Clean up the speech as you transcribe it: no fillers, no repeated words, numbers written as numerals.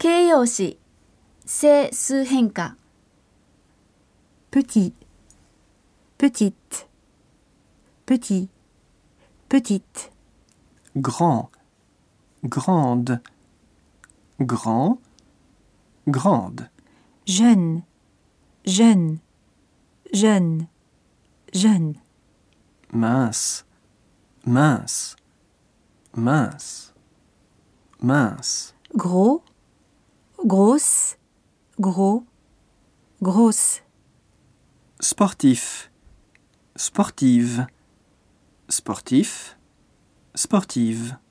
形容詞、整数変化。 petit, petite, petit, petite, grand, grande, grand, grande, jeune, jeune, jeune, jeune, mince, mince, mince, mince, gros, grosse, gros, grosse, sportif, sportive, sportif, sportive.